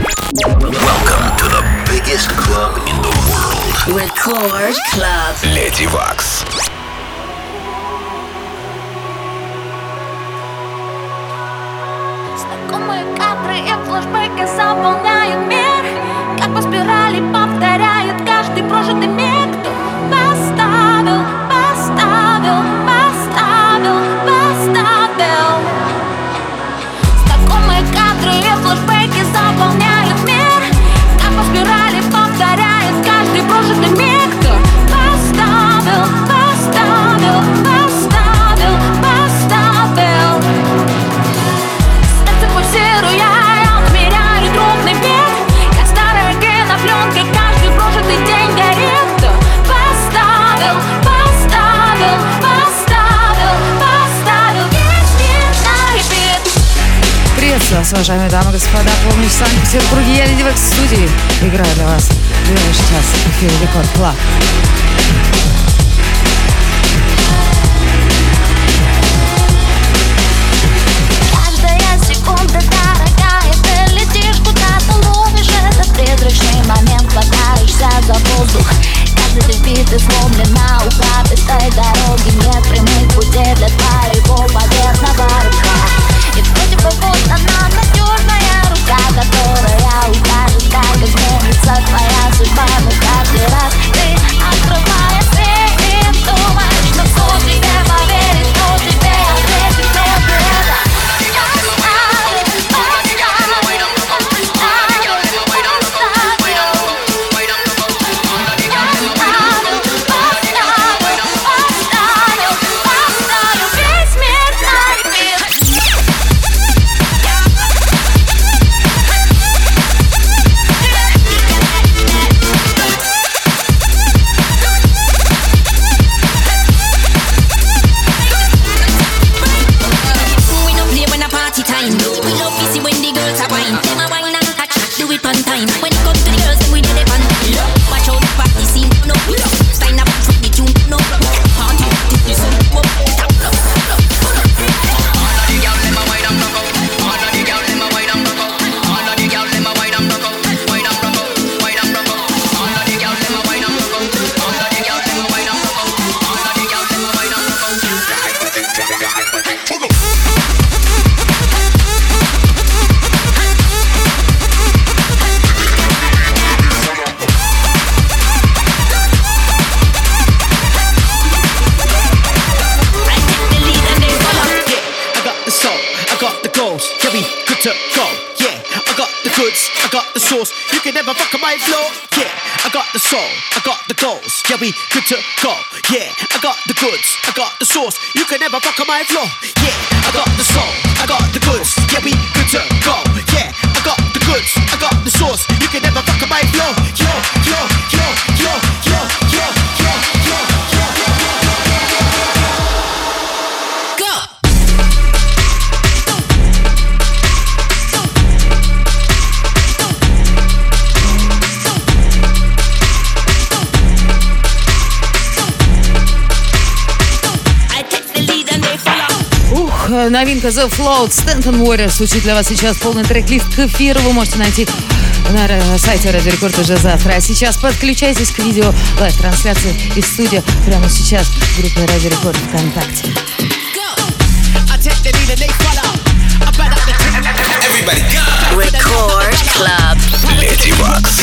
Welcome to the biggest club in the world. Record Club. Lady Wax. Знакомые кадры и флешбеки заполняют мир, как по спирали повторяет каждый прожитый миг. Кто поставил, поставил, поставил, поставил. Знакомые кадры и флешбеки заполняют мир, как по спирали повторяет каждый прожитый миг. Кто поставил, поставил, поставил, поставил. Сердце пульсируя, я отмеряю трудный бег. Я старая кинопленка, каждый прожитый день горит. Кто поставил, поставил, поставил, поставил весь мир на репит. Приветствую вас, уважаемые дамы и господа. Помню, в Санкт-Петербурге я Леди Векс в студии. Играю для вас ближайший час в эфире Рекорд Клаб. Каждая секунда дорогая, ты летишь куда-то, ловишь этот призрачный момент, хватаешься за воздух. Каждый ты вбит и сломлен на ухабистой дороге. Нет прямых путей для твоего поверхного рывка. И вроде бы вот она, надежная рука, которая укажет, как изменится твоя судьба. Но каждый раз ты открываешь дверь и думаешь, но кто тебе поверит, кто тебе ответит, кто же это? You can never fuck on my flow. Yeah, I got the soul, I got the goals. Yeah, we good to go. Yeah, I got the goods, I got the sauce. You can never fuck on my flow. Yeah, I got the soul, I got the goods. Yeah, we good to go. Yeah, I got the goods, I got the sauce. You can never fuck on my flow. Yo, yo, yo, yo, yo, yo, yo, yo, yo. Новинка The Float, Stanton Warrior звучит для вас сейчас. Полный трек-лист к эфиру вы можете найти на сайте Радио Рекорд уже завтра. А сейчас подключайтесь к видео лайв-трансляции из студии прямо сейчас в группе Радио Рекорд ВКонтакте. Record Club. Lady Wax.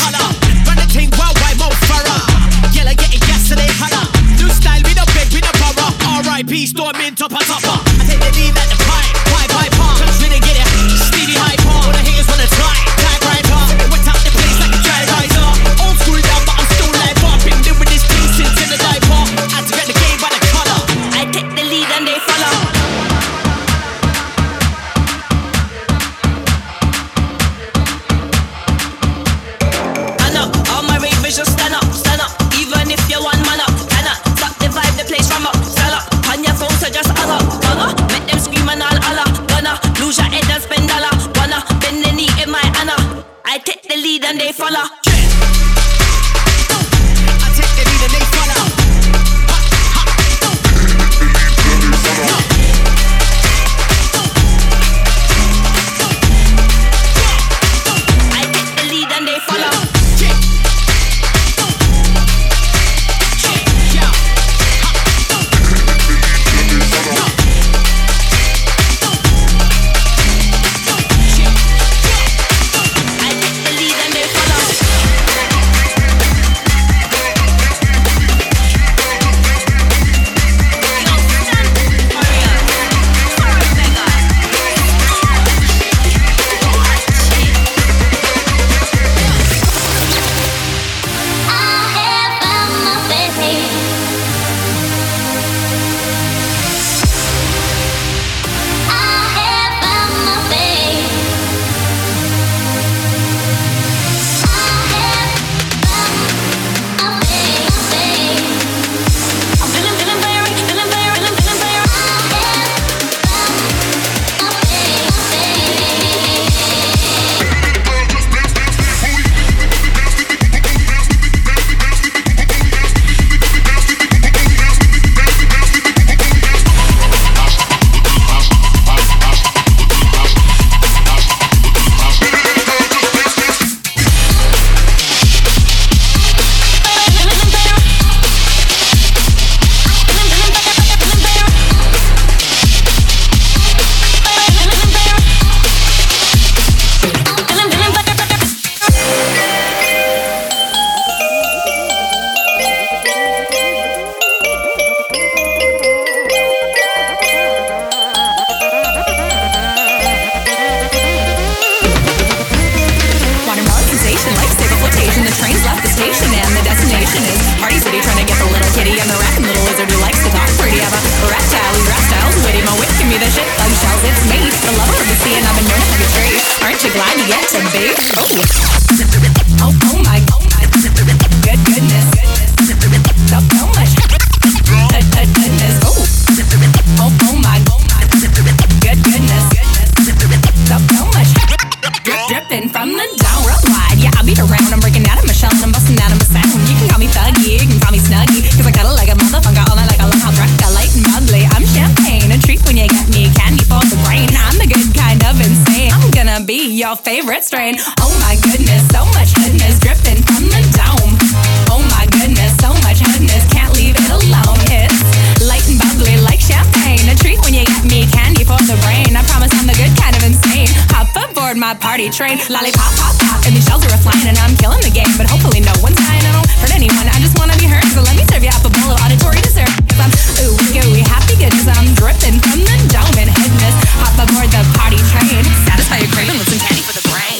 R.I.P. Storming top of topper. I take the lead at the pipe, pipe, cause really get it. Stevie hyper, all the haters wanna try, tag right up. Wet out the place like a dry riser. Old school down, but I'm still live up. Been doing this thing since in the diaper. Had to get the game by the color. I take the lead and they follow. I know, all my ravers just stand up, stand up. Even if you're one man up, cannot stop the vibe, the place from up, stand up. On your phone, so just Allah, make them scream and all Allah. Gonna lose your head and spend dollar. Wanna bend the knee in my Anna. I take the lead and they follow. I take the lead and they follow. I take the the lover of the sea, and I've been known to hug a tree. Aren't you glad you get to be? Oh my goodness. So much goodness. Oh my goodness. So much dripping from the dome. Worldwide, yeah, I'll beat around. I'm breaking out of my shell and I'm busting out of my sound. You can call me thuggy, you can call me snuggy, cause I got it like a motherfucker all night like a long haul truck. I light and ugly, I'm champagne, a treat when you get me, candy for the brain. I'm the good kind of insane, I'm gonna be your favorite strain. Oh my goodness, so much goodness dripping from the dome. Oh my goodness, so much goodness, can't leave it alone. It's light and bubbly like champagne, a treat when you get me, candy for the brain. I promise I'm the good kind of insane. Hop aboard my party train, lollipop, pop, pop, and these shells are flying, and I'm killing the game, but hopefully no one's dying. I don't hurt anyone, I just wanna be heard, so let me serve you up a bowl of auditory dessert. Cause I'm ooey gooey, happy goodness, I'm dripping from the dome and goodness. Hop aboard the party train, satisfy your craving with some candy for the brain.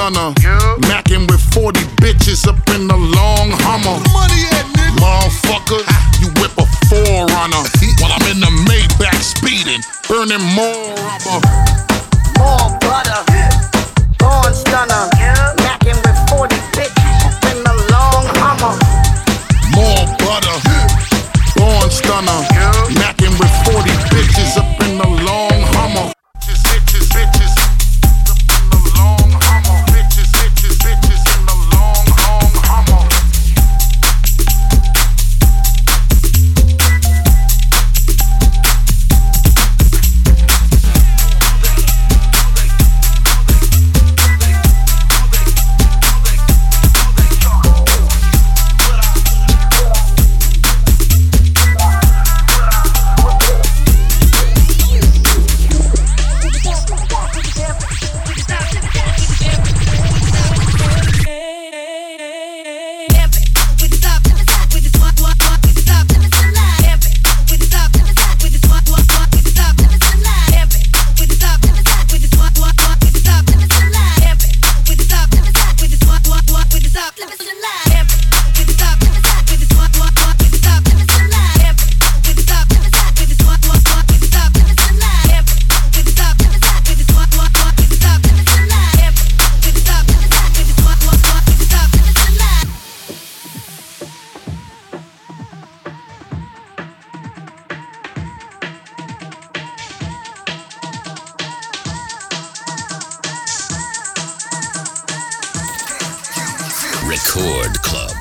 stunner. Macking with 40 bitches up in the long Hummer. Money at nigga. Motherfucker, you whip a 4Runner while I'm in the Maybach speeding, burning more rubber. More butter, born stunner. Macking with 40 bitches up in the long Hummer. More butter, born stunner. Macking with 40 bitches up in the long Hummer. Bitches, bitches, up in the long Hummer. Bitches, bitches, bitches in the long Hummer. Record Club.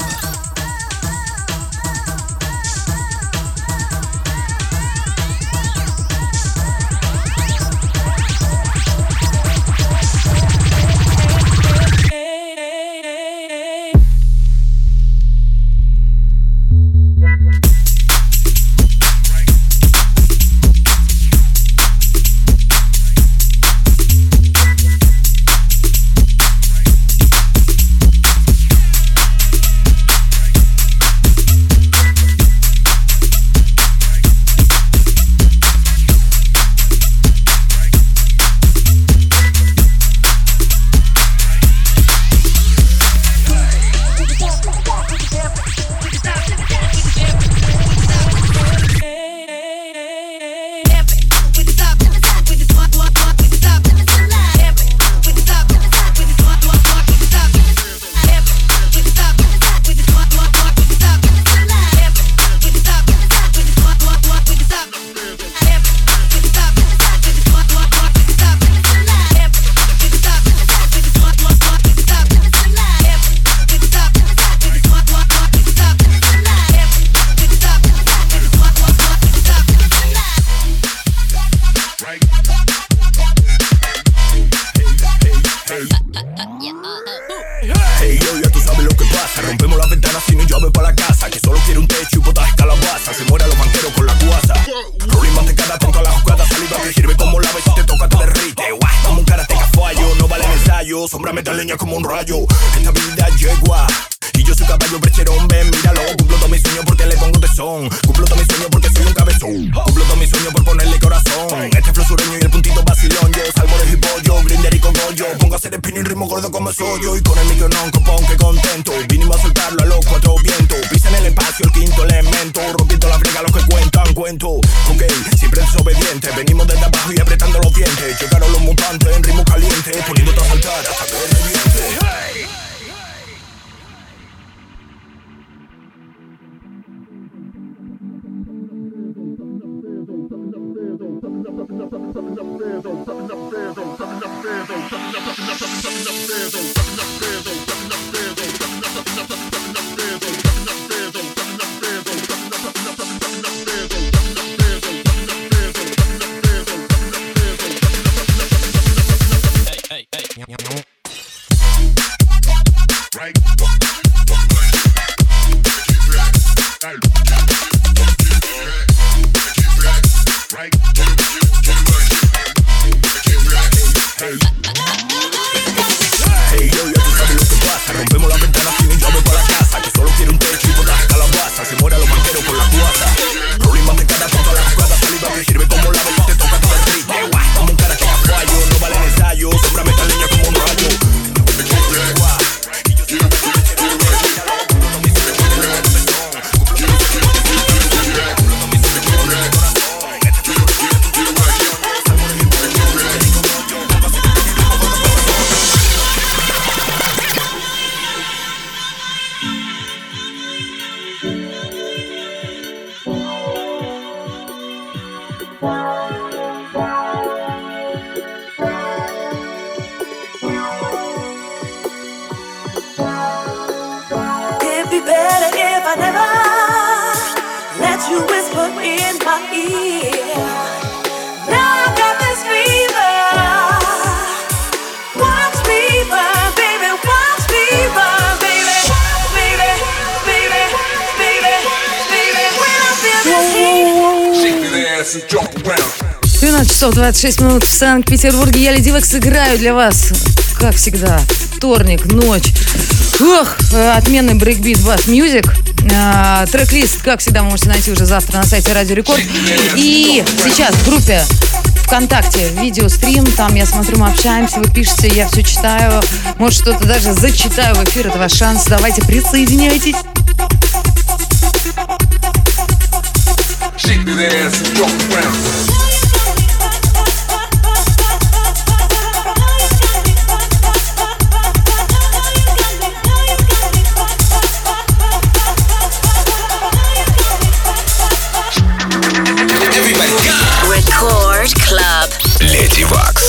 Sombra mete leña como un rayo. Esta vida yegua y yo soy caballo brecherón. Ven, míralo. Cumplo todo mi sueño porque le pongo tesón. Cumplo todo mi sueño porque soy un cabezón. Cumplo todo mi sueño por ponerle corazón. Este flow sureño y el puntito vacilón. Yo salvo de hipollo, grinder y cogollo. Pongo a hacer spinning ritmo gordo como soy yo. Y con el micronón copón que contento. Vinimos a soltarlo a los cuatro vientos. Pisa en el espacio el quinto elemento. Rompiendo la brega los que cuentan cuento. Ok, siempre desobediente. Venimos desde abajo y apretando los dientes. Llegaron los mutantes en ritmo caliente. Poniéndote a saltar hasta que reviente. Hey yo, ya tú sabes in my ear. Now I got this fever. Watch me burn, baby, watch me burn, baby. Baby, baby, baby, baby. When I feel this heat. Shake that ass and jump around. 12 часов 26 минут в Санкт-Петербурге. Я Леди Векс играю для вас, как всегда, вторник, ночь. Ох, отменный брейкбит Bass Music. Трек-лист, как всегда, вы можете найти уже завтра на сайте Радио Рекорд. И сейчас в группе ВКонтакте видеострим. Там я смотрю, мы общаемся, вы пишете, я все читаю. Может, что-то даже зачитаю в эфир. Это ваш шанс. Давайте, присоединяйтесь. Shake that ass and jump around. Record Club. Леди Вакс.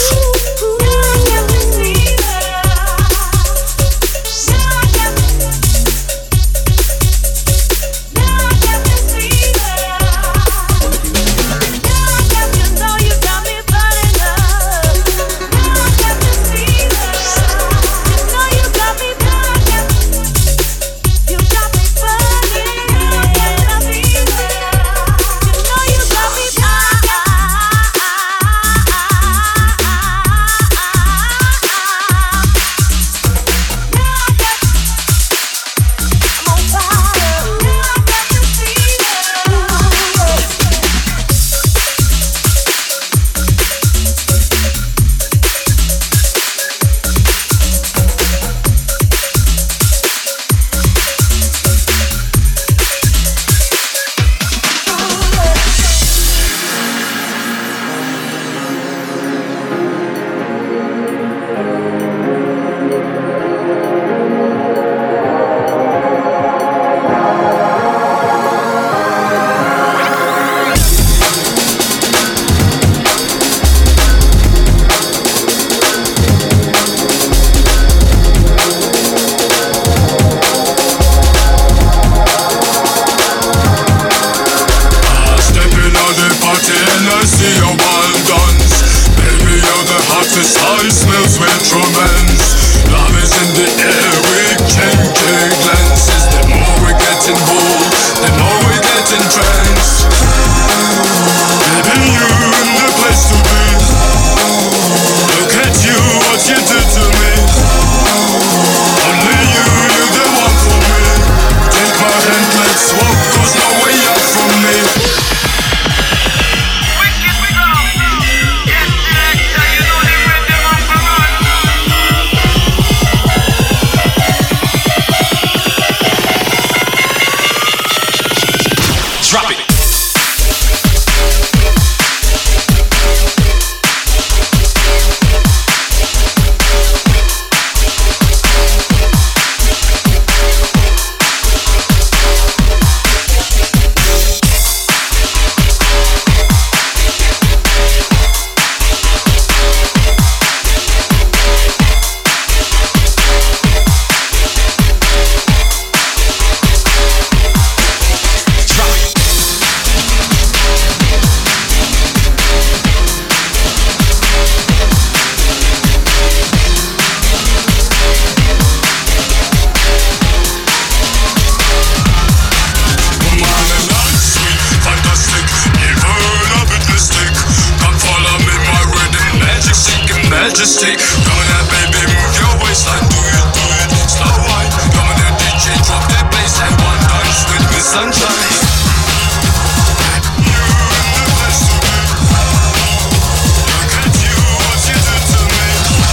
Majesty, come on that baby, move your waistline, do it, slow wine. Come on that DJ, drop that bass and one dance with me, sunshine. You in the place to be. Look at you, what you did to me.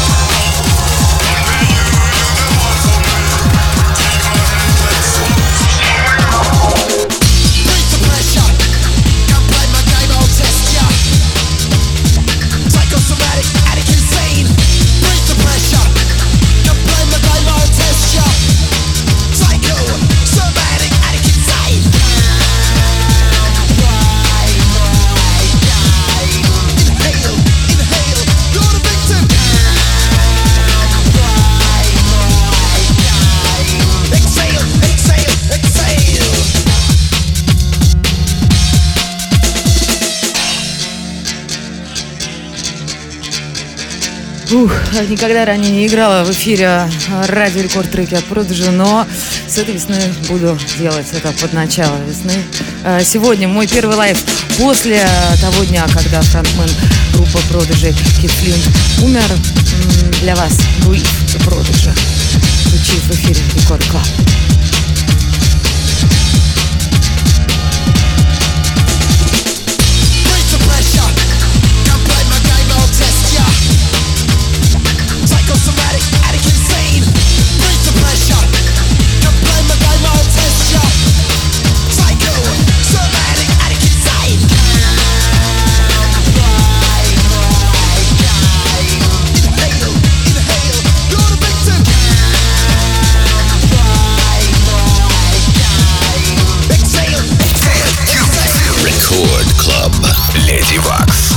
Only you the one for me. Take my hand, let's walk. Breathe the pressure. Come play my game, I'll test ya. Psychosomatic, addict insane. Breathe the pressure. Come play my game, I'll test ya. Psycho, somatic, addict insane. никогда ранее не играла в эфире радио рекорд треки от Prodigy, но с этой весны буду делать это под начало весны. Сегодня мой первый лайв после того дня, когда фронтмен группы Prodigy Кит Флинт умер. Для вас Breathe the Prodigy звучит в эфире Рекорд Клаб. Psychosomatic, addict, insane. Bring the pressure. Don't play my game, I'll test ya. Psycho, somatic, addict, insane. Inhale, you're the victim. Exhale. Record Club. Lady Wax.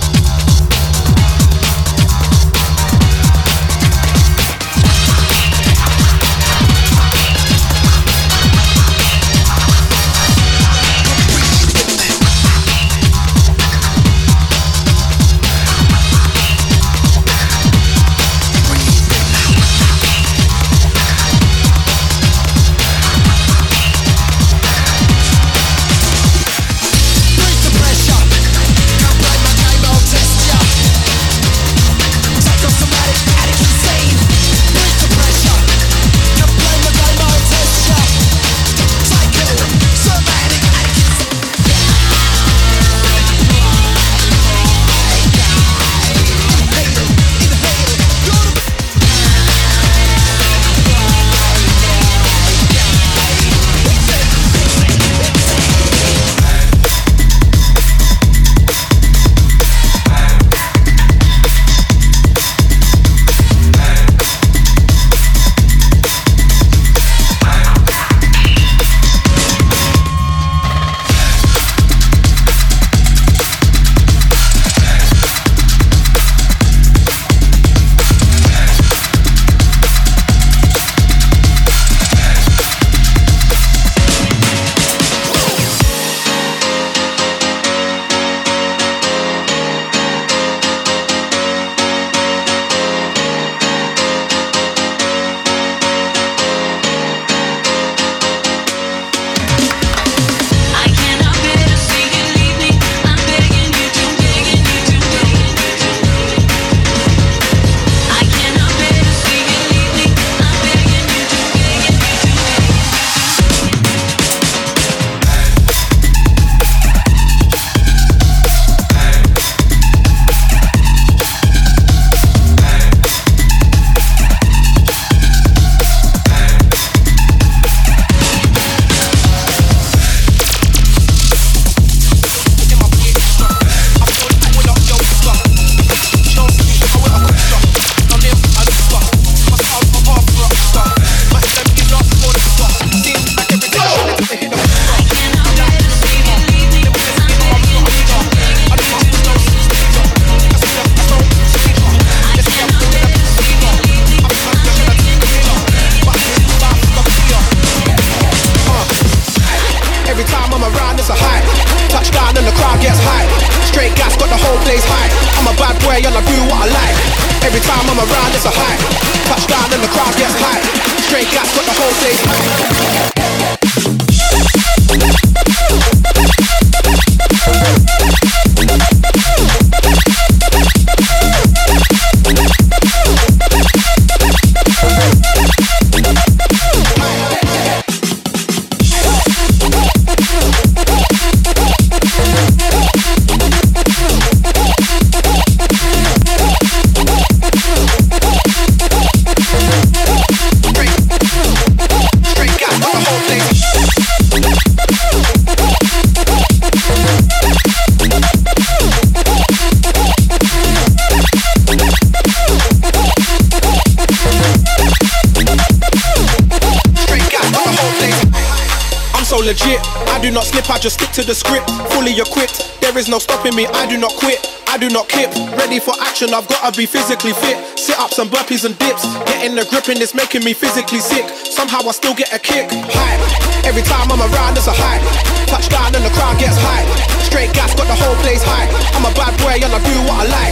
Legit, I do not slip, I just stick to the script. Fully equipped, there is no stopping me, I do not quit, I do not kip. Ready for action, I've gotta be physically fit. Sit-ups and burpees and dips, getting the grip and it's making me physically sick. Somehow I still get a kick, hype. Every time I'm around, it's a hype. Touchdown and the crowd gets hype. Straight gas, got the whole place hype. I'm a bad boy and I do what I like.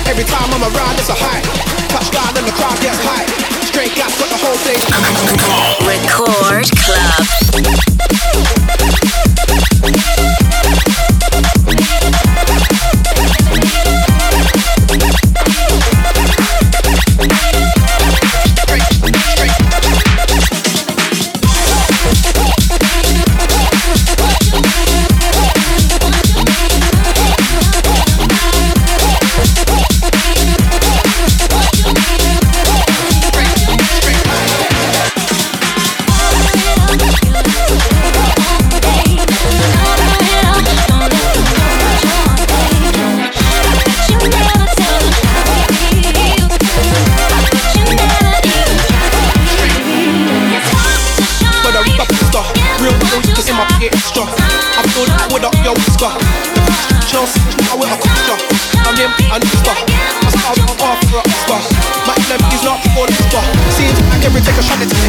Every time I'm around, it's a high. Touchdown and the crowd gets high. Straight gas, got the whole thing. Record Club. Extra. I feel that with up your whisker. Chelsea, I with a picture. I'm him, I need stuff. I start off for a whisper. My enemy's not for the whisper. Seems like every take a shot it's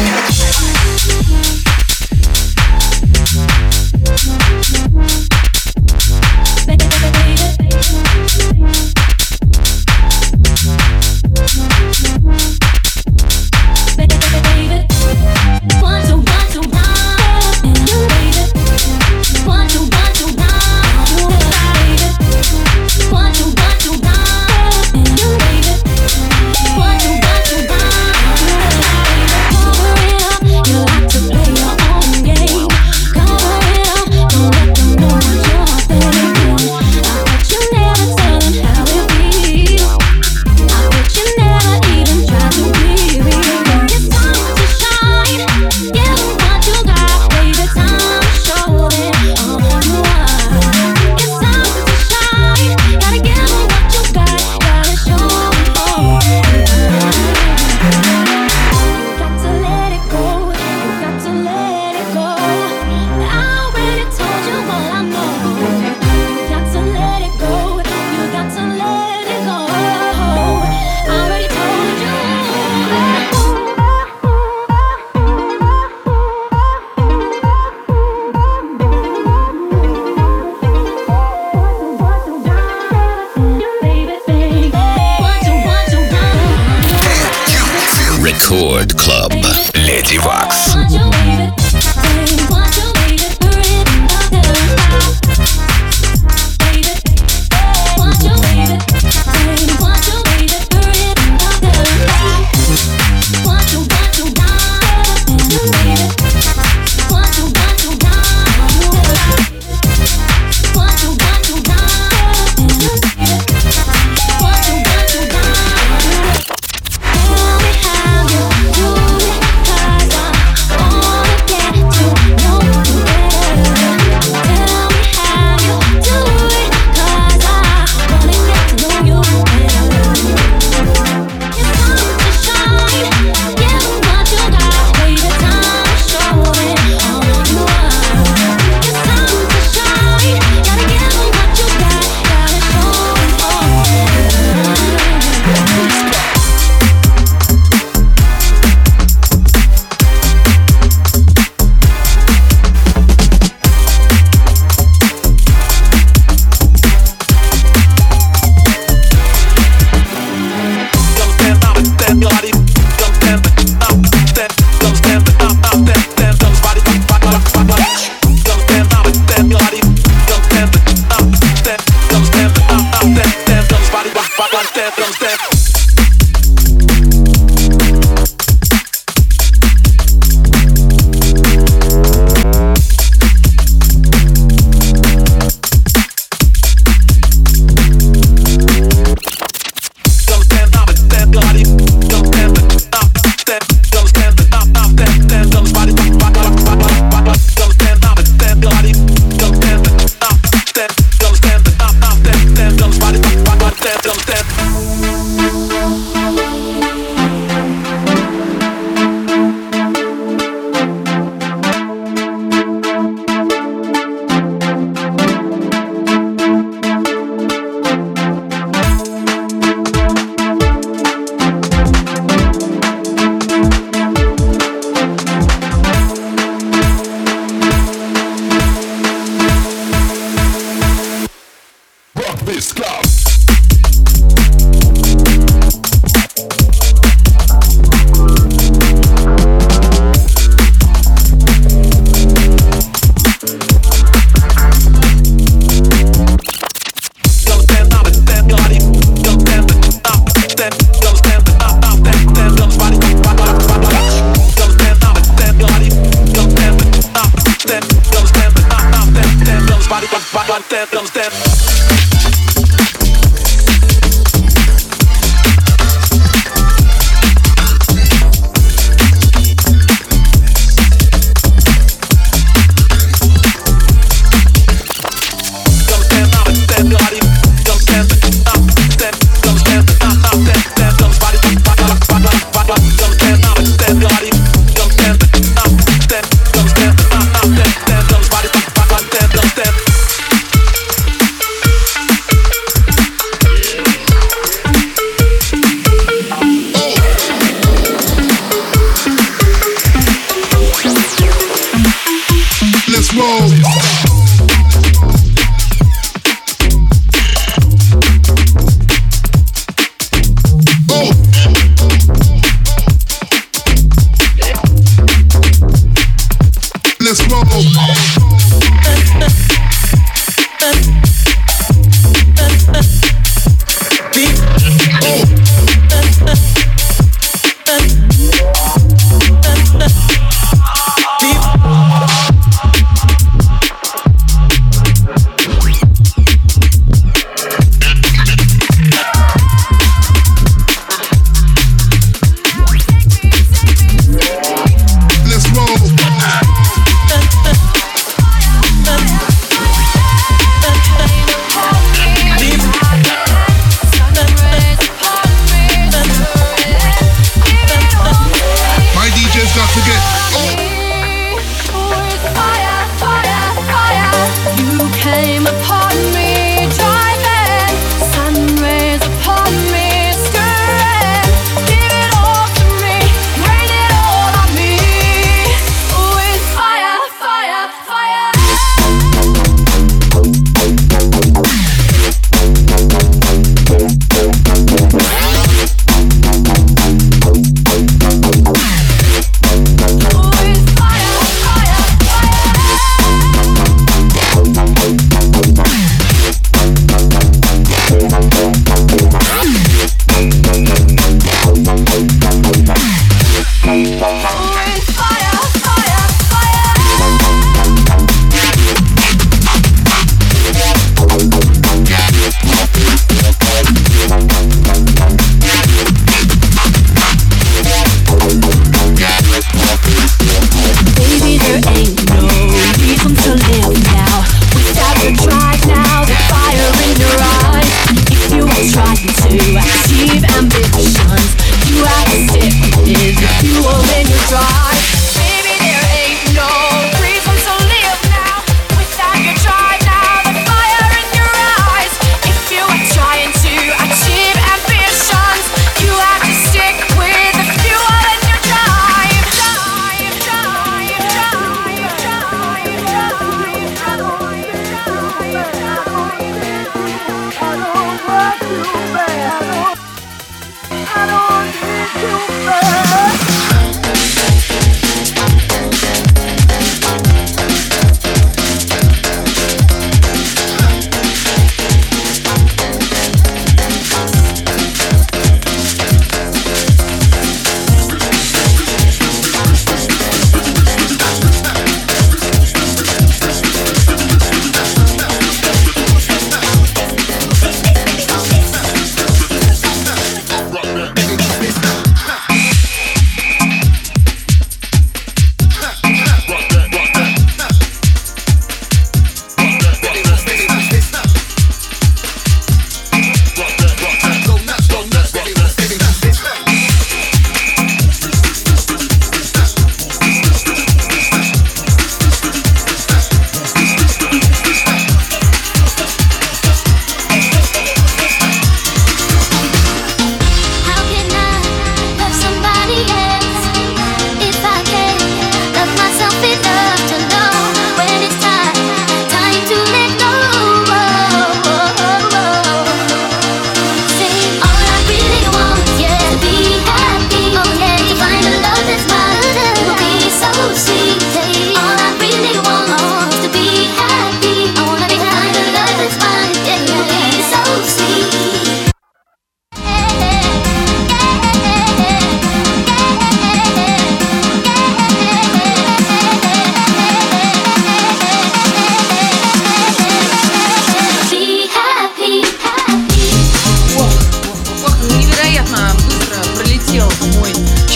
Record Club. Lady Wax. Tell me how you do it, 'cause I'm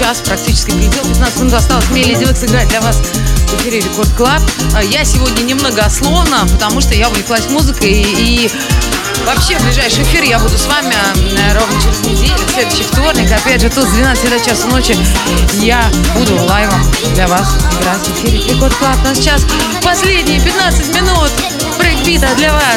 час практически прилетел. 15 минут осталось. Мне Леди Векс играть для вас в эфире Рекорд Клаб. Я сегодня немногословно, потому что я увлеклась музыкой. И вообще в ближайший эфир я буду с вами ровно через неделю, в следующий вторник. Опять же, тут с 12 до часа ночи я буду лайвом для вас играть в эфире Рекорд Клаб. Но сейчас последние 15 минут брейкбита для вас.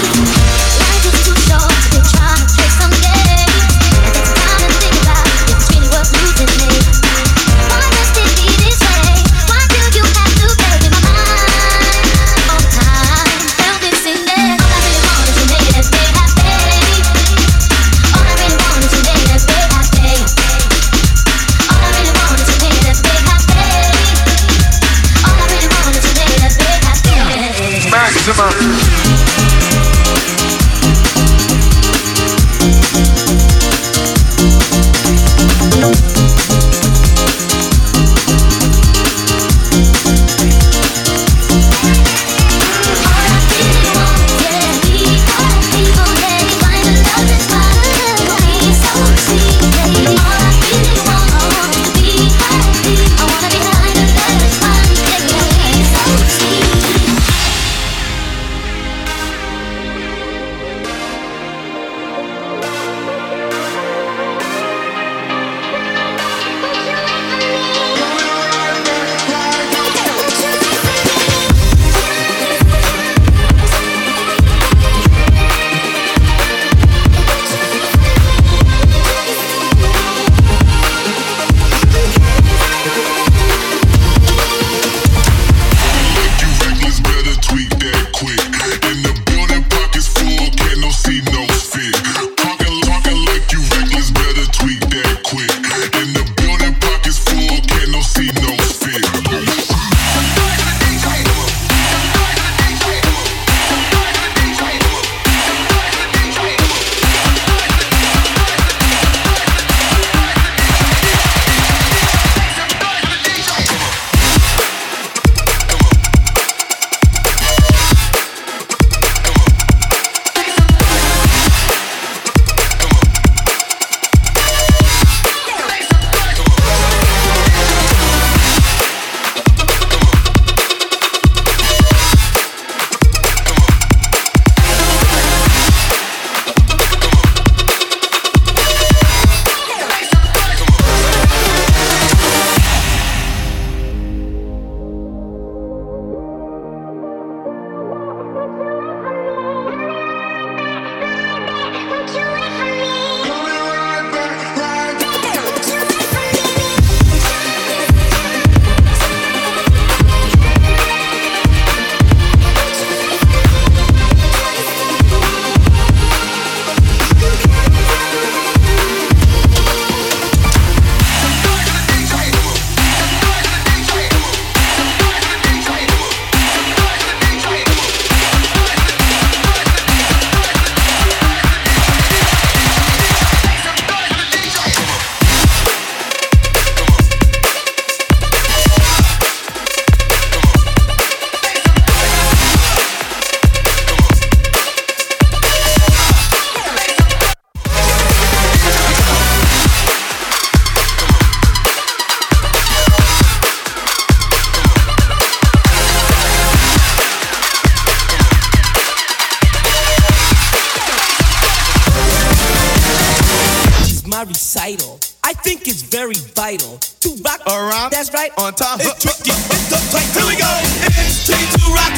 Recital. I think it's very vital to rock around. That's right, on time. It's tricky. It's the play. Here we go. It's tricky to rock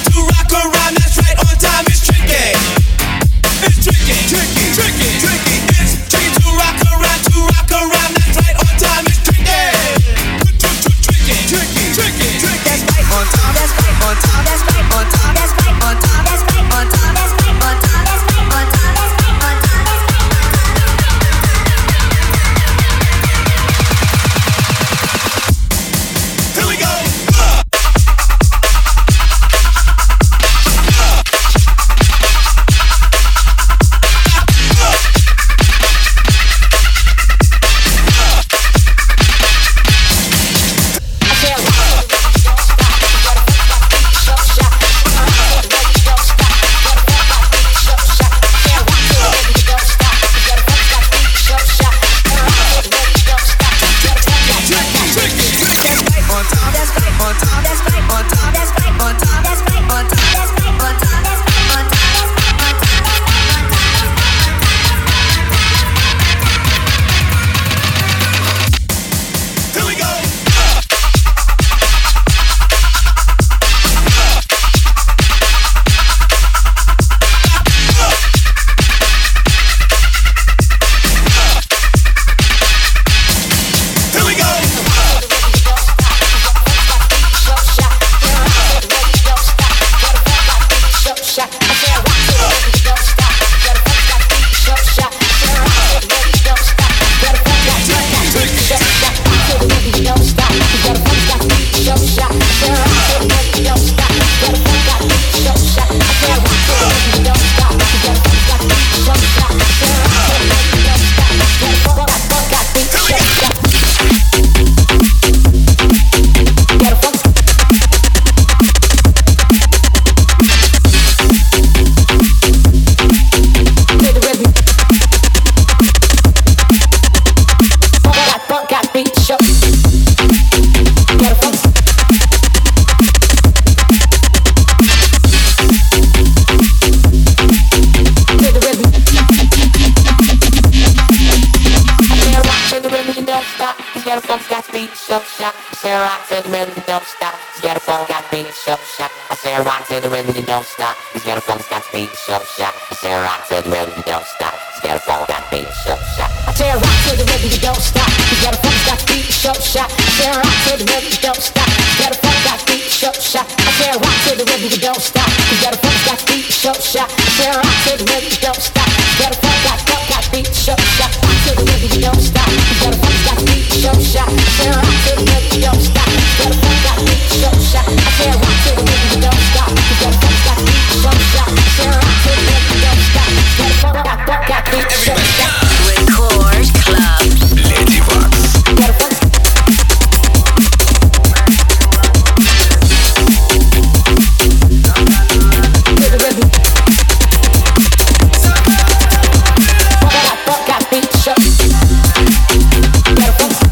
around. That's right, on time. It's tricky. It's tricky. Tricky. It's tricky to rock around. That's right, on time. It's tricky. Tricky. That's right, on time. That's right, on time. That's right, on time. That's right, on time. That's right, on time. That's right, on time. That's right, on time. stop. Get a funk, got me so shot. Say rock to the rhythm, don't stop. Get a funk, got me so shot. I say rock to the rhythm, don't stop. Get a funk, got me so shot. I say rock to the rhythm, don't stop. Get a funk, got me so shot. I say rock to the rhythm, don't stop. Get a funk, got me so shot. I say rock to the rhythm, don't stop. Get a funk, got me so shot. I say rock to the rhythm, don't stop. Get a funk, got me so shot. I say rock to the rhythm, don't stop. Get a funk, got me so shot. Rock to the rhythm, don't stop. Get a funk, got me so shot. I say rock to the rhythm, don't stop. Get a funk, got me so shot. I say rock to the rhythm, don't stop. Get a funk, got me so shot. I say rock to the rhythm, don't stop. Get a funk, got me so shot. Record Club. Lady Wax. Get a funk. To the rhythm. Got me so. Get a funk.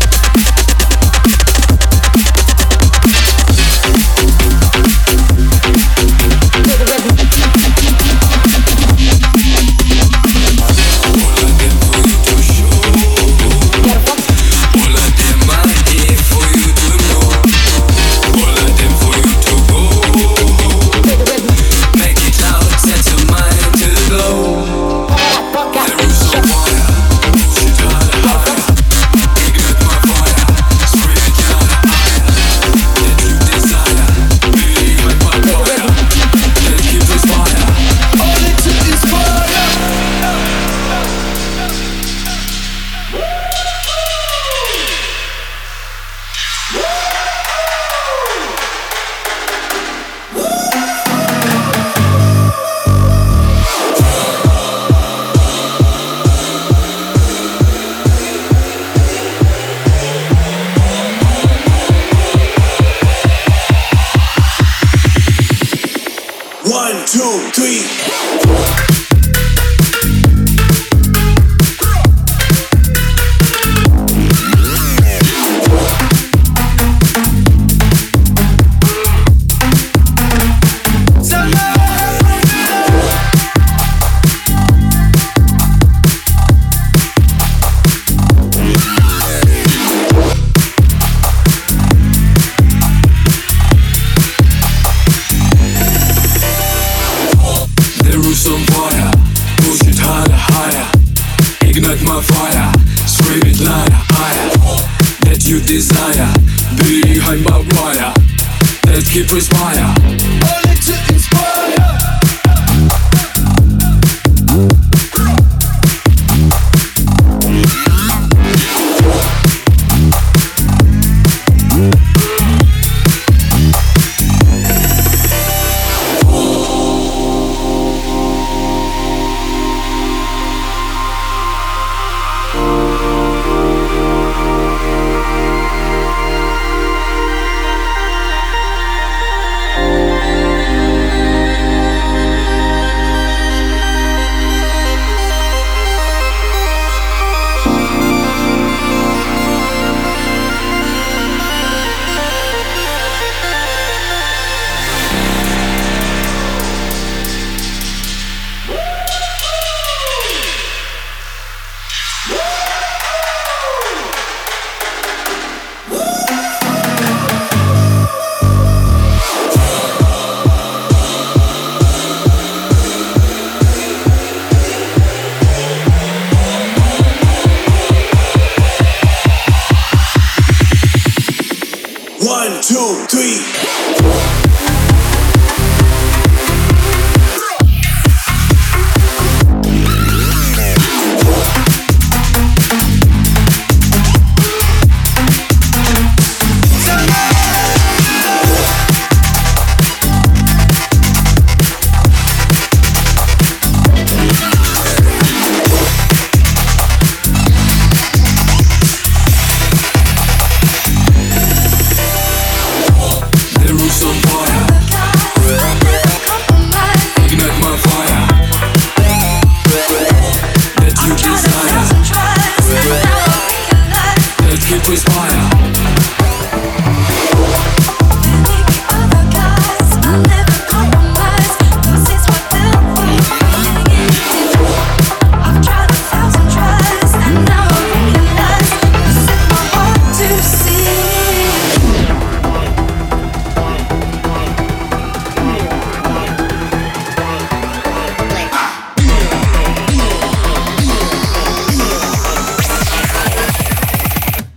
I've tried 1,000 tries, and now I realize this is my world.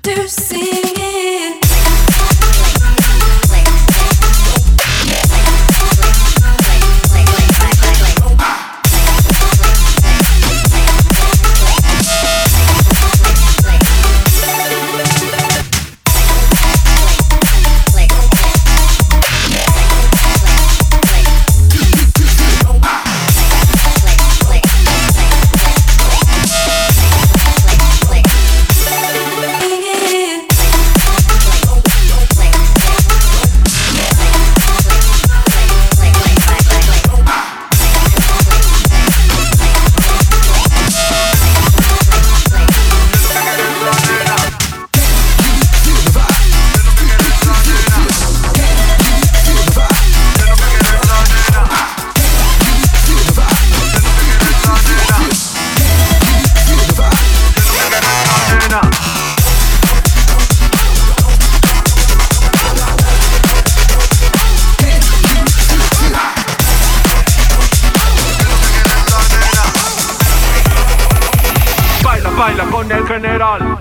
to sing it. Baila con el general.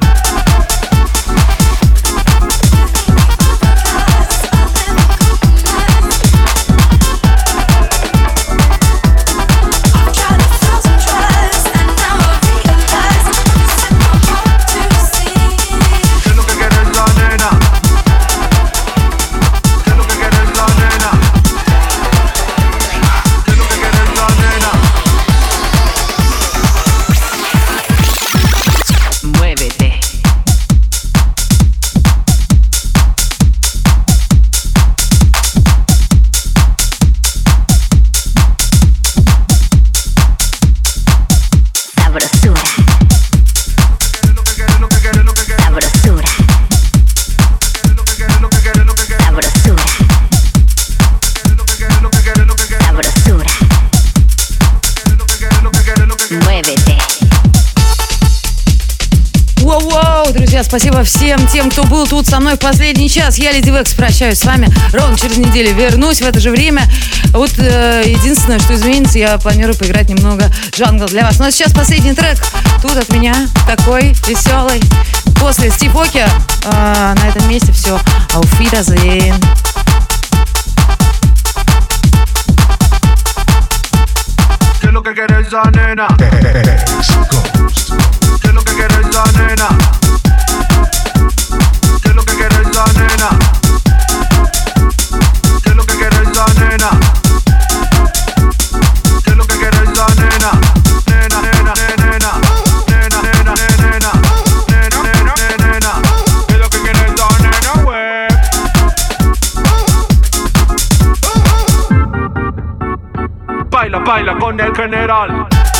Спасибо всем тем, кто был тут со мной в последний час. Я, Леди Векс, прощаюсь с вами. Ровно через неделю вернусь в это же время. Вот единственное, что изменится, я планирую поиграть немного джангл для вас. Но сейчас последний трек. Тут от меня такой веселый. После Стив Оки на этом месте все. Auf Wiedersehen. ¿Qué es lo que quiere esa nena? ¿Qué es lo que quiere esa nena? ¿Qué es lo que quiere esa nena? ¿Qué es lo que quiere esa nena? ¿Qué es lo que quiere esa nena? Nena, nena, nena, nena, nena, nena, nena, nena, nena. ¿Qué es lo que quiere esa nena, wey? Baila, baila con el general.